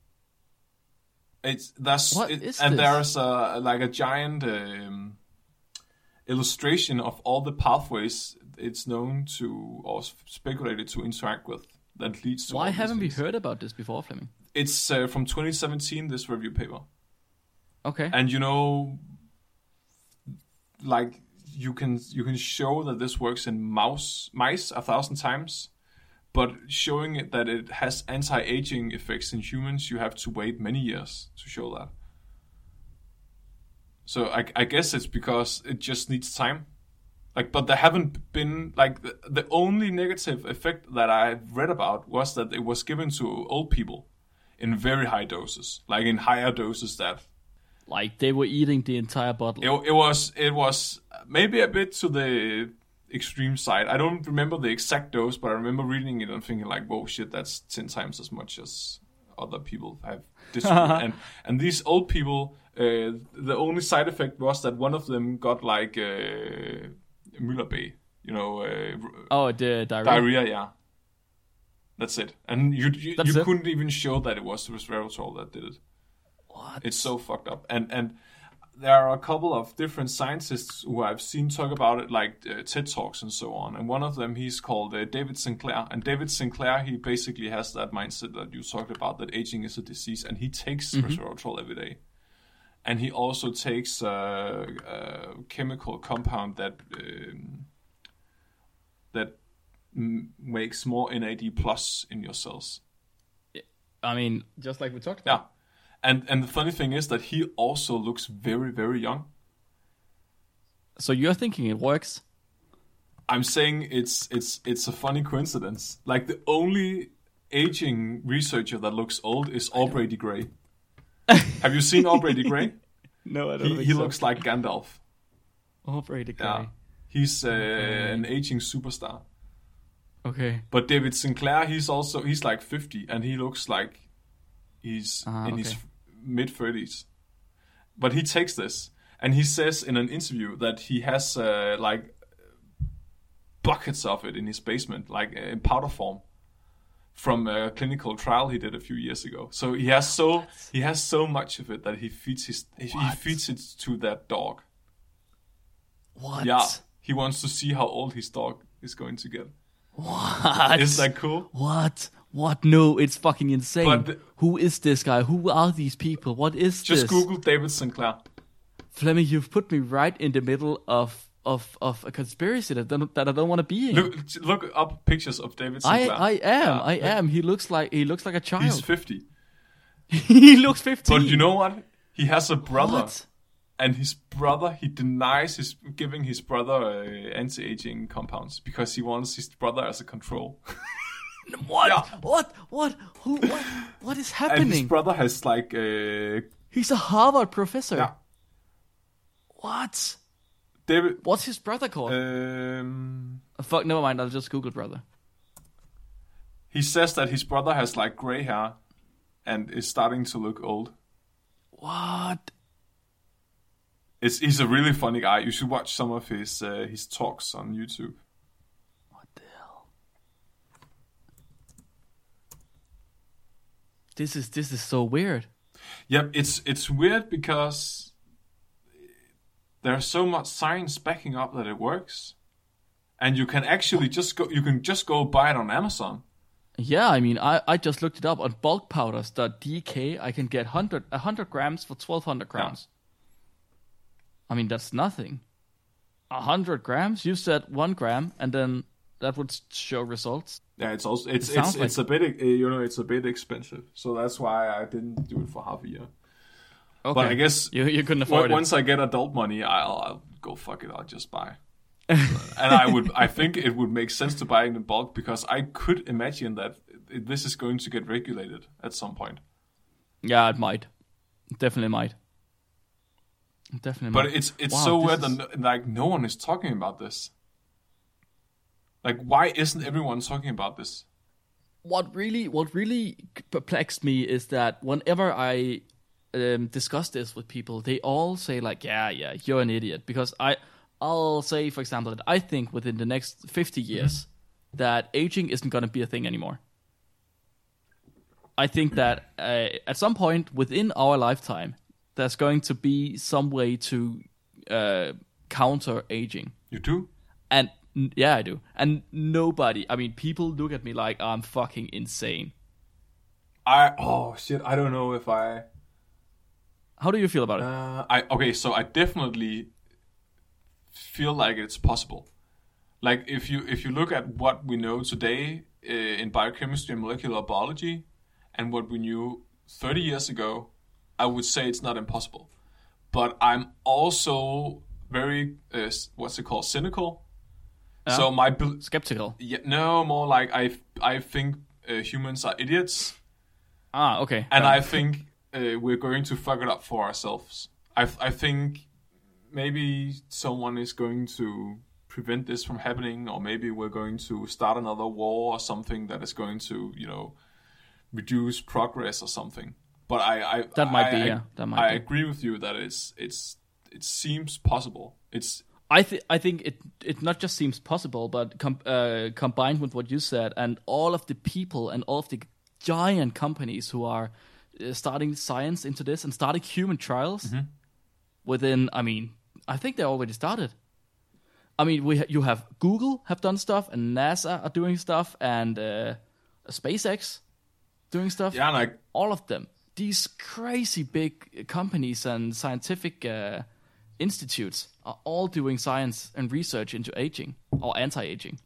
It's that's What it, is and this? there's a like a giant um, illustration of all the pathways it's known to or speculated to interact with that leads to. Why all these haven't we things. heard about this before, Fleming? It's uh, from twenty seventeen. This review paper, Okay. and you know, like you can you can show that this works in mouse mice a thousand times. But showing it that it has anti-aging effects in humans, you have to wait many years to show that. So I, I guess it's because it just needs time. Like, but there haven't been like the, the only negative effect that I've read about was that it was given to old people in very high doses, like in higher doses that Like they were eating the entire bottle. it, it was it was maybe a bit to the extreme side. I don't remember the exact dose, but I remember reading it and thinking like, whoa, shit, that's ten times as much as other people have distributed. and and these old people, uh, the only side effect was that one of them got like uh, Müller-Bay, you know, uh, Oh, the diarrhea. diarrhea. Yeah, that's it. And you you, That's you it? couldn't even show that it was resveratrol that did it. What? It's so fucked up. And and there are a couple of different scientists who I've seen talk about it, like uh, TED Talks and so on. And one of them, he's called uh, David Sinclair. And David Sinclair, he basically has that mindset that you talked about, that aging is a disease. And he takes Mm-hmm. resveratrol every day. And he also takes uh, a chemical compound that um, that m- makes more N A D plus in your cells. I mean, just like we talked Yeah. about. And and the funny thing is that he also looks very, very young. So you're thinking it works? I'm saying it's it's it's a funny coincidence. Like the only aging researcher that looks old is Aubrey de Grey. Have you seen Aubrey de Grey? No, I don't He, think he so. looks like Gandalf. Oh, pretty great. Yeah, he's uh, an aging superstar. Okay. But David Sinclair, he's also he's like fifty, and he looks like he's Ah, in okay. his mid thirties. But he takes this, and he says in an interview that he has uh, like buckets of it in his basement, like uh, in powder form, from a clinical trial he did a few years ago. So he has so he has so much of it that he feeds his he, he What? feeds it to that dog. What? Yeah, he wants to see how old his dog is going to get. What? Is that cool? What? What? No, it's fucking insane. But the- Who is this guy? Who are these people? What is Just this? Google David Sinclair. Fleming, you've put me right in the middle of of, of a conspiracy that, don't- that I don't want to be in. Look look up pictures of David I, Sinclair. I am. Yeah. I am. He looks like he looks like a child. He's fifty. he looks fifteen. But you know what? He has a brother. What? And his brother, he denies his giving his brother uh, anti-aging compounds because he wants his brother as a control. What? Yeah. What? What? Who? What? What is And his happening? brother has like uh, He's a Harvard professor. yeah, What? David. What's his brother called? Um, Uh, fuck, never mind. I'll just Google brother. he says that his brother has like gray hair and is starting to look old. What? It's he's a really funny guy. You should watch some of his uh, his talks on YouTube. What the hell? This is this is so weird. Yep, it's it's weird because there's so much science backing up that it works, and you can actually just go you can just go buy it on Amazon. Yeah, I mean, I, I just looked it up on bulk powders dot d k. I can get one hundred, one hundred grams for twelve hundred grams. I mean, that's nothing. one hundred grams? You said one gram, and then that would show results. Yeah, it's also it's It it's sounds it's a bit uh, you know it's a bit expensive, so that's why I didn't do it for half a year. Okay. But I guess you you couldn't afford once it. I get adult money, I'll, I'll go fuck it. I'll just buy. And I would I think it would make sense to buy it in bulk because I could imagine that this is going to get regulated at some point. Yeah, it might. Definitely might. Definitely But might. it's it's Wow, so this weird is- that like no one is talking about this. Like, why isn't everyone talking about this? What really, what really perplexed me is that whenever I um, discuss this with people, they all say like, "Yeah, yeah, you're an idiot." Because I, I'll say, for example, that I think within the next fifty years mm-hmm. that aging isn't going to be a thing anymore. I think that uh, at some point within our lifetime, there's going to be some way to uh, counter aging. You do? And yeah, I do. And nobody, I mean, people look at me like I'm fucking insane. I, oh shit, I don't know if I... How do you feel about it? Uh, I okay, so I definitely feel like it's possible. Like if you if you look at what we know today uh, in biochemistry and molecular biology, and what we knew thirty years ago, I would say it's not impossible. But I'm also very uh, what's it called, cynical. Yeah. So my be- skeptical. Yeah, no, more like I I think uh, humans are idiots. Ah, okay. And yeah. I think uh, we're going to fuck it up for ourselves. I I think maybe someone is going to prevent this from happening, or maybe we're going to start another war or something that is going to, you know, reduce progress or something. But I, I that might I, be I, yeah. That might I be. agree with you that it's it's it seems possible. It's I think I think it it not just seems possible, but com- uh, combined with what you said and all of the people and all of the giant companies who are uh, starting science into this and starting human trials mm-hmm. within. I mean, I think they already started. I mean, we ha- you have Google have done stuff, and NASA are doing stuff, and uh, SpaceX doing stuff. Yeah, like all of them. These crazy big companies and scientific uh, institutes are all doing science and research into aging or anti-aging.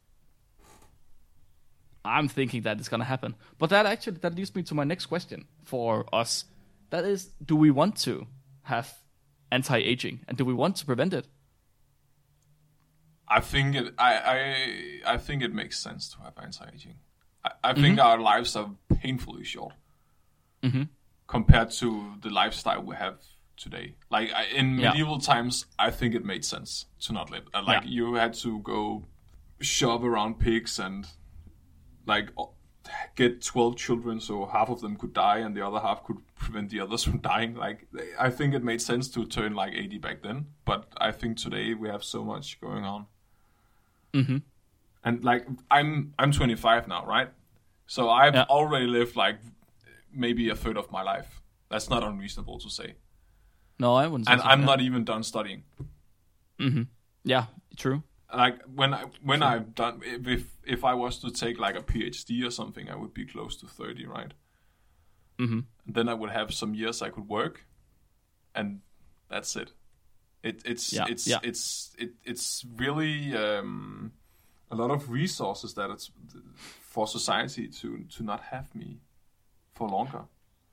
I'm thinking that it's going to happen. But that actually that leads me to my next question for us. That is, do we want to have anti-aging, and do we want to prevent it? I think it. I I I think it makes sense to have anti-aging. I, I think mm-hmm. our lives are painfully short mm-hmm. compared to the lifestyle we have today. Like I, in yeah. medieval times, I think it made sense to not live. Uh, like yeah. you had to go shove around pigs and like get twelve children, so half of them could die and the other half could prevent the others from dying. Like I think it made sense to turn like eighty back then, but I think today we have so much going on. Mm-hmm. And like I'm I'm twenty-five now, right? So I've yeah. already lived like maybe a third of my life. That's not unreasonable to say. No, I wouldn't say and so, I'm yeah. not even done studying. Mm-hmm. Yeah, true. Like when I when True. I've done if if I was to take like a PhD or something, I would be close to thirty, right? Mm-hmm. And then I would have some years I could work, and that's it. It it's yeah. it's yeah. it's it, it's really um, a lot of resources that it's for society to to not have me for longer.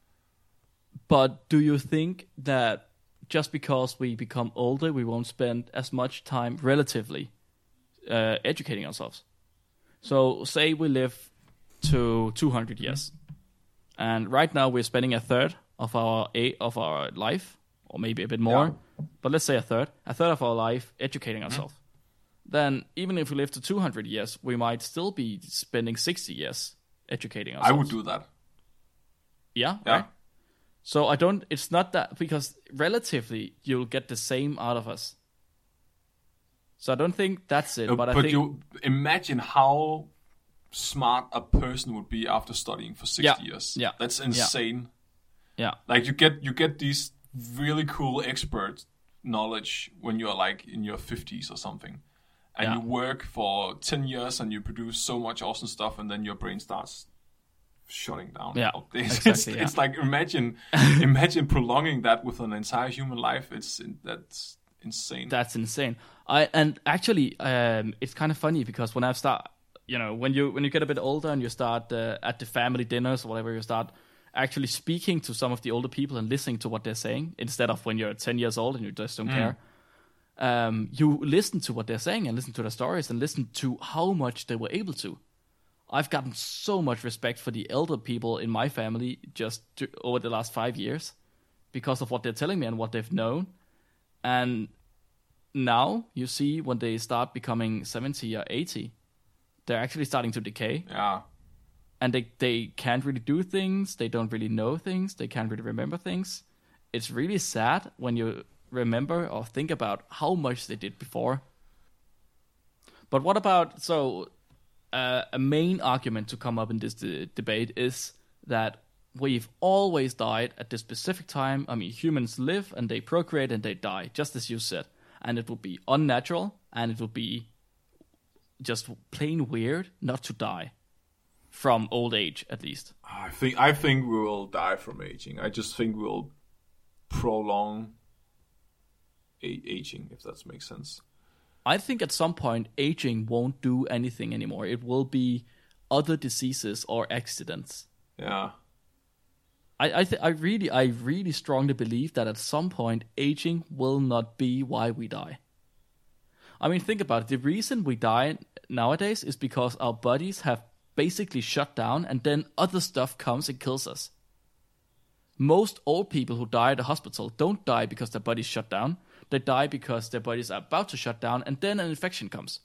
But do you think that just because we become older, we won't spend as much time relatively uh, educating ourselves? So say we live to two hundred years, and right now we're spending a third of our a- of our life, or maybe a bit more, yeah. but let's say a third, a third of our life educating ourselves. Mm-hmm. Then even if we live to two hundred years, we might still be spending sixty years educating ourselves. I would do that. Yeah, yeah. Right? So I don't, it's not that, because relatively you'll get the same out of us. So I don't think that's it. No, but I but think, you imagine how smart a person would be after studying for sixty yeah, years. Yeah. That's insane. Yeah. Like you get you get these really cool expert knowledge when you're like in your fifties or something. And yeah. you work for ten years and you produce so much awesome stuff, and then your brain starts shutting down. Yeah, it's, exactly, it's, yeah. it's like imagine imagine prolonging that with an entire human life. It's that's insane. That's insane. I and actually, um, it's kind of funny because when I start you know, when you when you get a bit older and you start uh, at the family dinners or whatever, you start actually speaking to some of the older people and listening to what they're saying instead of when you're ten years old and you just don't mm. care. Um, you listen to what they're saying and listen to their stories and listen to how much they were able to. I've gotten so much respect for the elder people in my family just to, over the last five years because of what they're telling me and what they've known. And now you see when they start becoming seventy or eighty, they're actually starting to decay. Yeah. And they, they can't really do things. They don't really know things. They can't really remember things. It's really sad when you remember or think about how much they did before. But what about, so uh, a main argument to come up in this de- debate is that we've always died at this specific time. I mean, humans live and they procreate and they die, just as you said. And it would be unnatural and it would be just plain weird not to die. From old age, at least. I think I think we will die from aging. I just think we'll prolong a- aging, if that makes sense. I think at some point, aging won't do anything anymore. It will be other diseases or accidents. Yeah. I I, th- I really I really strongly believe that at some point, aging will not be why we die. I mean, think about it. The reason we die nowadays is because our bodies have basically shut down, and then other stuff comes and kills us. Most old people who die at a hospital don't die because their bodies shut down. They die because their bodies are about to shut down, and then an infection comes.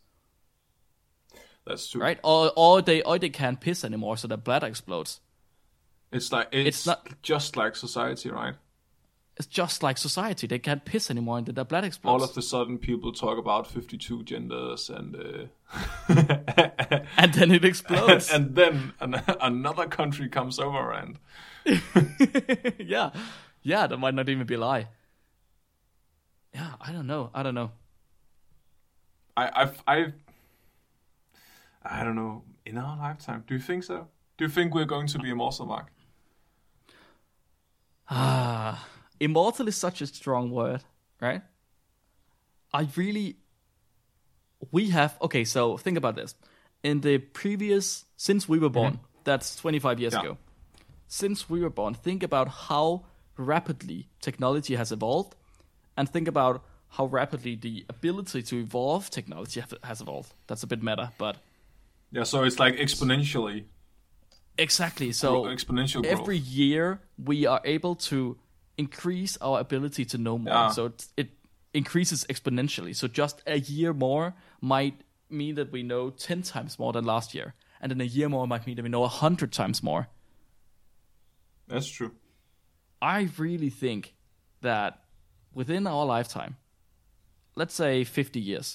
That's true, right? Or or they or they can't piss anymore, so their bladder explodes. It's like it's, it's not just like society, right? It's just like society. They can't piss anymore, and their bladder explodes. All of a sudden, people talk about fifty-two genders, and uh... and then it explodes. and, and then an- another country comes over, and yeah, yeah, that might not even be a lie. Yeah, I don't know. I don't know. I, I've, I, I don't know. In our lifetime, do you think so? Do you think we're going to be immortal, Mark? Ah. Immortal is such a strong word, right? I really... We have... Okay, so think about this. In the previous... Since we were born, mm-hmm. that's twenty-five years yeah. ago. Since we were born, think about how rapidly technology has evolved, and think about how rapidly the ability to evolve technology has evolved. That's a bit meta, but... Yeah, so it's like exponentially. Exactly, so exponential growth. Every year we are able to increase our ability to know more. Yeah. So it, it increases exponentially. So just a year more might mean that we know ten times more than last year. And then a year more might mean that we know one hundred times more. That's true. I really think that within our lifetime, let's say fifty years,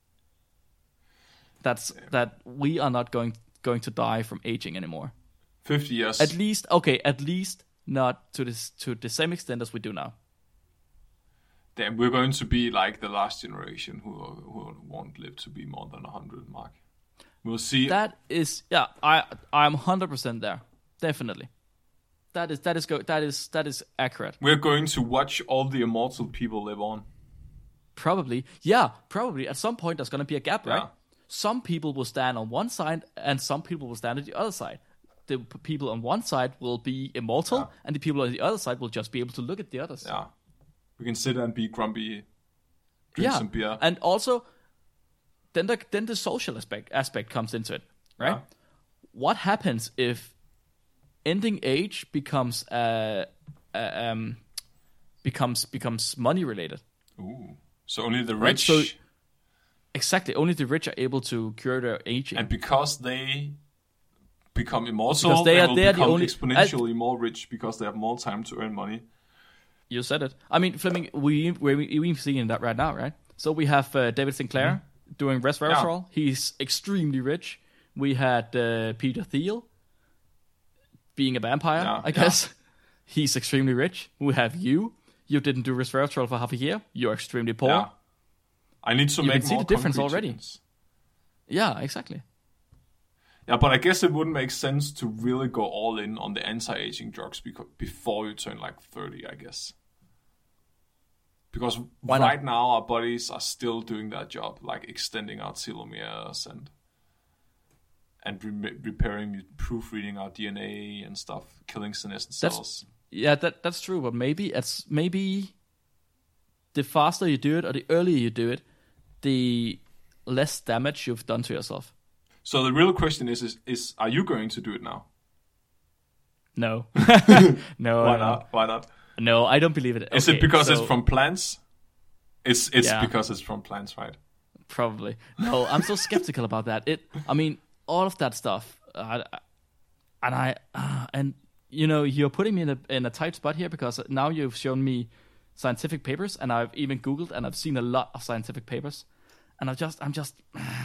that's yeah. that we are not going going to die from aging anymore. fifty years. At least, okay, at least not to this to the same extent as we do now. Then we're going to be like the last generation who who won't live to be more than one hundred, Mark. We'll see. That is, yeah, I I'm one hundred percent there. Definitely. That is that is go that is that is accurate. We're going to watch all the immortal people live on. Probably. Yeah, probably. At some point there's going to be a gap, right? Yeah. Some people will stand on one side and some people will stand on the other side. The p- people on one side will be immortal, yeah. and the people on the other side will just be able to look at the others. Yeah. We can sit and be grumpy, drink yeah. some beer. And also, then the, then the social aspect, aspect comes into it, right? Yeah. What happens if ending age becomes uh, uh, um, becomes becomes money related? Ooh. So only the right? rich... So, exactly. Only the rich are able to cure their aging. And because they... become immortal, because they, they are will they are become the only, exponentially uh, more rich because they have more time to earn money. You said it. I mean, Fleming, we we're even seeing that right now, right? So we have uh, David Sinclair mm-hmm. doing resveratrol. Yeah. He's extremely rich. We had uh, Peter Thiel being a vampire, yeah, I guess. Yeah. He's extremely rich. We have you. You didn't do resveratrol for half a year. You're extremely poor. Yeah. I need to you make can see more the difference already. Chickens. Yeah, exactly. Yeah, but I guess it wouldn't make sense to really go all in on the anti-aging drugs beco- before you turn like thirty, I guess. Because Why right not? now our bodies are still doing that job, like extending our telomeres and and re- repairing, proofreading our D N A and stuff, killing senescent That's- cells. Yeah, that that's true, but maybe it's maybe the faster you do it or the earlier you do it, the less damage you've done to yourself. So the real question is, is, is are you going to do it now? No. no. Why no. not? Why not? No, I don't believe it. Is Okay, it because so- it's from plants? It's it's Yeah. because it's from plants, right? Probably. No, I'm so skeptical about that. It. I mean, all of that stuff, uh, and I, uh, and you know, you're putting me in a in a tight spot here because now you've shown me scientific papers, and I've even Googled, and I've seen a lot of scientific papers, and I've just, I'm just,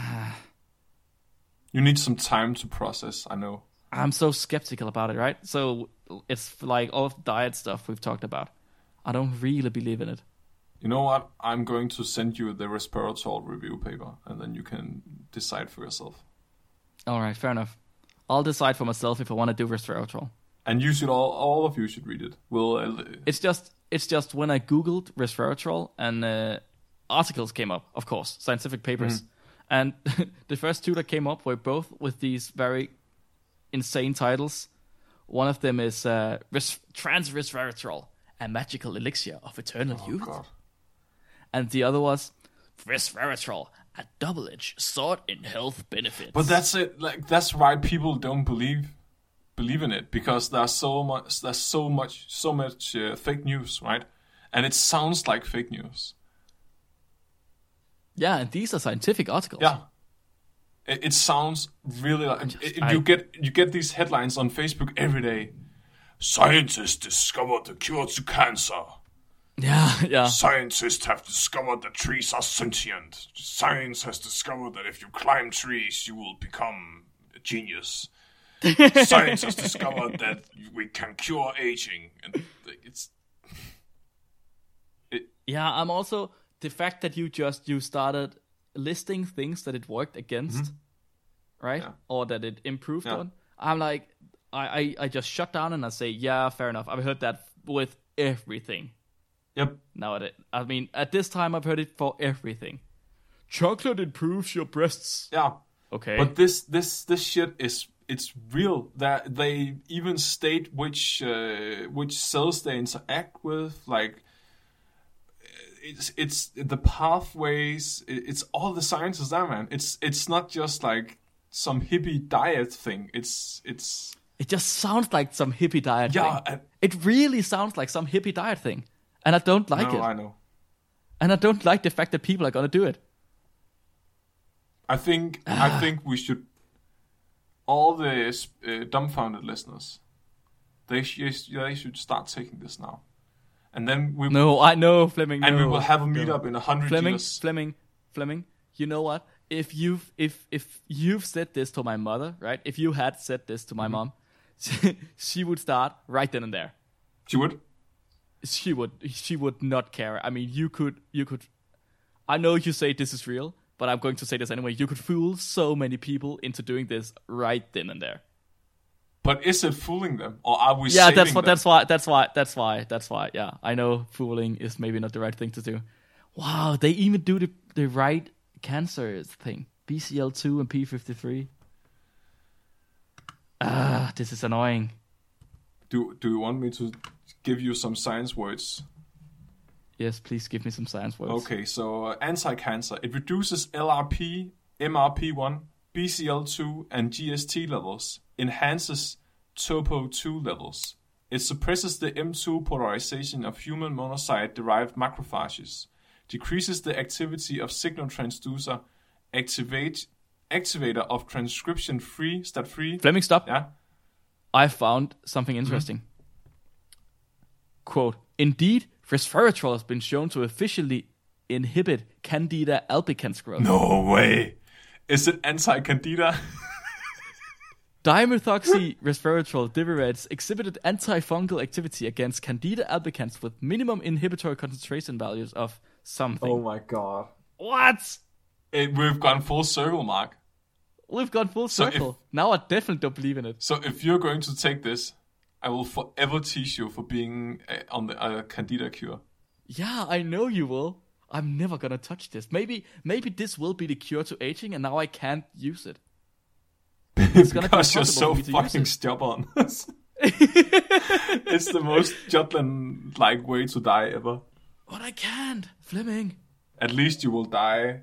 You need some time to process. I know. I'm so skeptical about it. Right? So it's like all of the diet stuff we've talked about. I don't really believe in it. You know what? I'm going to send you the resveratrol review paper, and then you can decide for yourself. All right, fair enough. I'll decide for myself if I want to do resveratrol. And you should all, all of you should read it. We'll. Uh, It's just, it's just when I googled resveratrol and uh, articles came up, of course, scientific papers, and the first two that came up were both with these very insane titles. One of them is uh, res- trans resveratrol, a magical elixir of eternal oh youth, God. and the other was resveratrol, a double-edged sword in health benefits. But that's it. Like that's why people don't believe believe in it, because there's so much. There's so much. So much uh, fake news, right? And it sounds like fake news. yeah, and these are scientific articles. Yeah. It, it sounds really like just- it, I- you get you get these headlines on Facebook every day. Scientists discovered the cure to cancer. yeah, yeah. Scientists have discovered that trees are sentient. Science has discovered that if you climb trees, you will become a genius. Science has discovered that we can cure aging, and it's Yeah, I'm also the fact that you just you started listing things that it worked against, right? Yeah. Or that it improved Yeah. on. I'm like, I, I, I just shut down and I say, yeah, fair enough. I've heard that with everything yep. nowadays. I mean, at this time, I've heard it for everything. Chocolate improves your breasts. Yeah. Okay. But this this this shit is it's real. That they even state which uh, which cells they interact with. Like it's it's the pathways. It's all the science is there, man. It's it's not just like some hippie diet thing. It's it's it just sounds like some hippie diet yeah. thing. And, It really sounds like some hippie diet thing. And I don't like no, it. I know. And I don't like the fact that people are going to do it. I think I think we should all the uh, dumbfounded listeners. They sh- they should start taking this now, and then we No, I know, Fleming. and no. we will have a No. meetup in a hundred Fleming, years. Fleming, Fleming. You know what? If you've if if you've said this to my mother, right? If you had said this to my Mm-hmm. mom, she, she would start right then and there. She would. She would she would not care. I mean, you could you could. I know you say this is real, but I'm going to say this anyway. You could fool so many people into doing this right then and there. But is it fooling them, or are we? Yeah, saving that's what. them? That's why. That's why. That's why. That's why. Yeah, I know fooling is maybe not the right thing to do. Wow, they even do the the right cancer thing. B C L two and P fifty-three. Ah, this is annoying. Do Do you want me to give you some science words? Yes, please give me some science words. Okay, so uh, anti-cancer. It reduces L R P, M R P one, B C L two, and G S T levels. Enhances Topo two levels. It suppresses the M two polarization of human monocyte-derived macrophages. Decreases the activity of signal transducer. Activate activator of transcription-free, stat-free. Fleming, stop. Yeah. I found something interesting. Quote, indeed, resveratrol has been shown to efficiently inhibit Candida albicans growth. No way. Is it anti-candida? Dimethoxy resveratrol divirets exhibited antifungal activity against Candida albicans with minimum inhibitory concentration values of something. my god. What? It, we've gone full circle, Mark. We've gone full So if- circle. Now I definitely don't believe in it. So if you're going to take this, I will forever tease you for being uh, on the uh, Candida cure. Yeah, I know you will. I'm never gonna touch this. Maybe, maybe this will be the cure to aging, and now I can't use it. It's gonna because be you're so impossible for me to fucking use it. stubborn. It's the most Jutland like way to die ever. But I can't, Fleming. At least you will die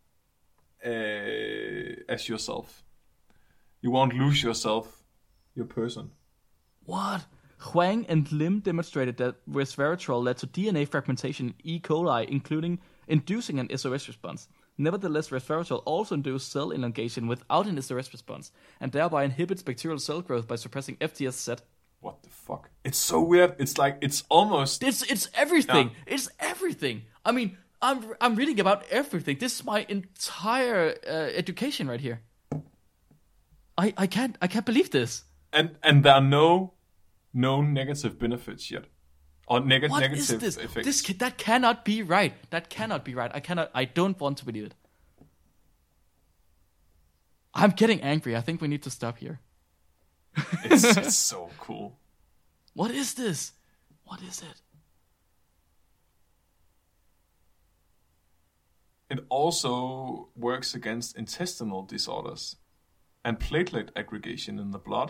uh, as yourself. You won't lose yourself, your person. What? Huang and Lim demonstrated that resveratrol led to D N A fragmentation in E. coli, including inducing an S O S response. Nevertheless, resveratrol also induces cell elongation without an S O S response, and thereby inhibits bacterial cell growth by suppressing F T S Z. What the fuck? It's so weird. It's like, it's almost... It's it's everything. Yeah. It's everything. I mean, I'm I'm reading about everything. This is my entire uh, education right here. I I can't I can't believe this. And and there are no no negative benefits yet. Or neg- What negative is this? effects. This ca- that cannot be right. That cannot be right. I cannot. I don't want to believe it. I'm getting angry. I think we need to stop here. It's, it's so cool. What is this? What is it? It also works against intestinal disorders and platelet aggregation in the blood.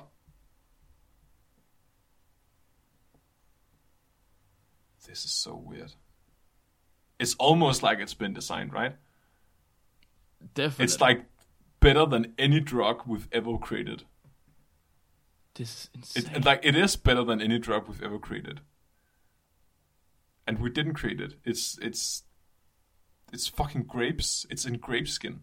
This is so weird. It's almost like it's been designed, right? Definitely. It's like better than any drug we've ever created. This is insane. It, like it is better than any drug we've ever created. And we didn't create it. It's it's it's fucking grapes. It's in grape skin.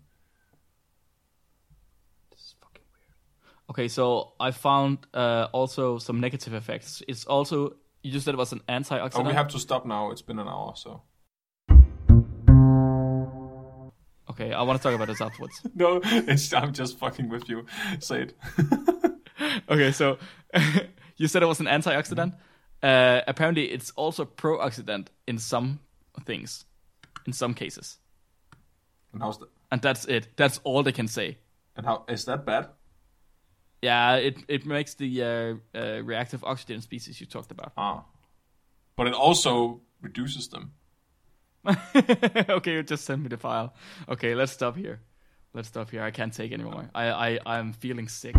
This is fucking weird. Okay, so I found uh, also some negative effects. It's also, you just said it was an antioxidant. Oh, we have to stop now. It's been an hour, so. Okay, I want to talk about this afterwards. No, it's, I'm just fucking with you. Say it. Okay, so you said it was an antioxidant. Uh, apparently, it's also pro-oxidant in some things, in some cases. And how's that? And that's it. That's all they can say. And how is that bad? Yeah, it it makes the uh, uh, reactive oxygen species you talked about. Ah, but it also reduces them. Okay, you just send me the file. Okay, let's stop here. Let's stop here. I can't take anymore. I I I'm feeling sick.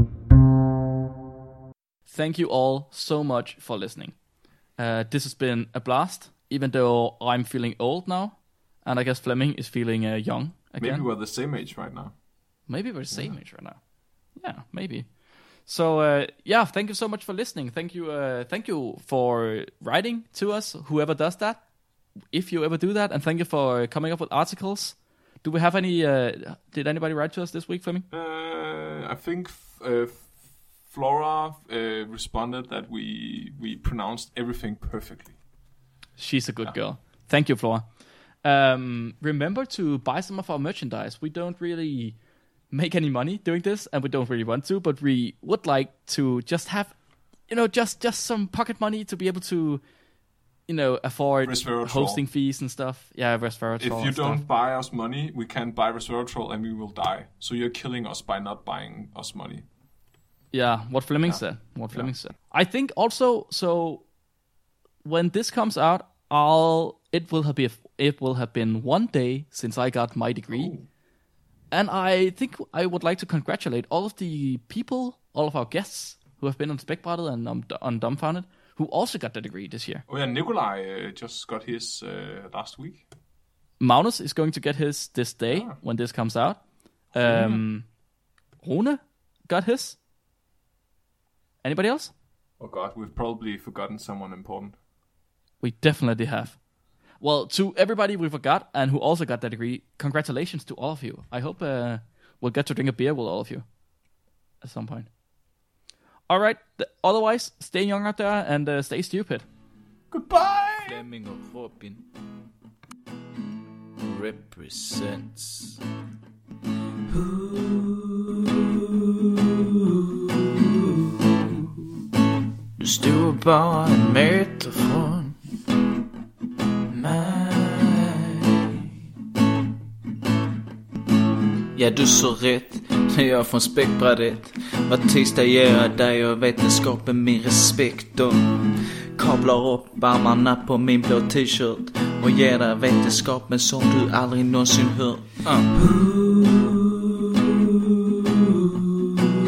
Thank you all so much for listening. Uh, this has been a blast, even though I'm feeling old now, and I guess Fleming is feeling uh, young again. Maybe we're the same age right now. Maybe we're the same yeah. age right now. Yeah, maybe. So uh, yeah, thank you so much for listening. Thank you, uh, thank you for writing to us. Whoever does that, if you ever do that, and thank you for coming up with articles. Do we have any? Uh, did anybody write to us this week, Fleming? Uh, I think uh, Flora uh, responded that we we pronounced everything perfectly. She's a good yeah. girl. Thank you, Flora. Um, remember to buy some of our merchandise. We don't really make any money doing this, and we don't really want to, but we would like to just have, you know, just just some pocket money to be able to, you know, afford hosting fees and stuff. Yeah, resveratrol. If you don't stuff. buy us money, we can't buy resveratrol, and we will die. So you're killing us by not buying us money. Yeah, what Fleming yeah. said. What Fleming yeah. said. I think also, so when this comes out, I'll it will have been it will have been one day since I got my degree. Ooh. And I think I would like to congratulate all of the people, all of our guests who have been on Spækbrættet and um, on Dumbfounded, who also got the degree this year. Oh yeah, Nikolai uh, just got his uh, last week. Magnus is going to get his this day yeah. when this comes out. Um, Rune got his. Anybody else? Oh god, we've probably forgotten someone important. We definitely have. Well, to everybody we forgot and who also got that degree, congratulations to all of you. I hope uh, we'll get to drink a beer with all of you at some point. All right. Th- otherwise, stay young out there and uh, stay stupid. Goodbye. Fleming og Robin represents. Du stod bare en meter fra Ja, du så rätt, när jag från Spækbrættet. Var tisdag ger jag dig och vetenskapen min respekt och kablar upp armarna på min blå t-shirt och ger dig vetenskapen som du aldrig någonsin hört. Uh.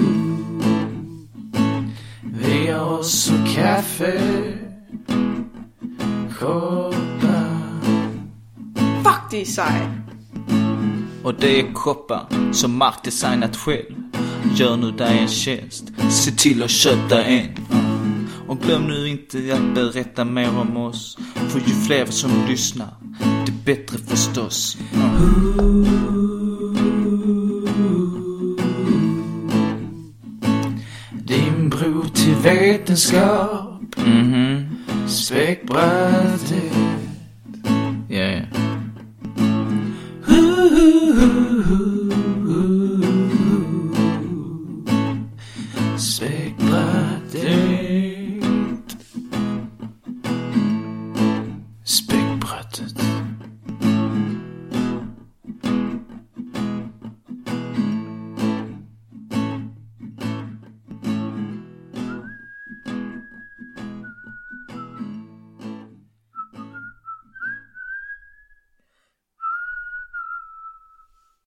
koppar. Fuck, det är sej. Och det är koppar som Mark designat själv. Gör nu dig en tjänst, se till att köpa en. Och glöm nu inte att berätta mer om oss, för ju fler som lyssnar, det bättre förstås. Din bro till vetenskap, mm-hmm. Späckbrädet. Yeah. Späckbrädet.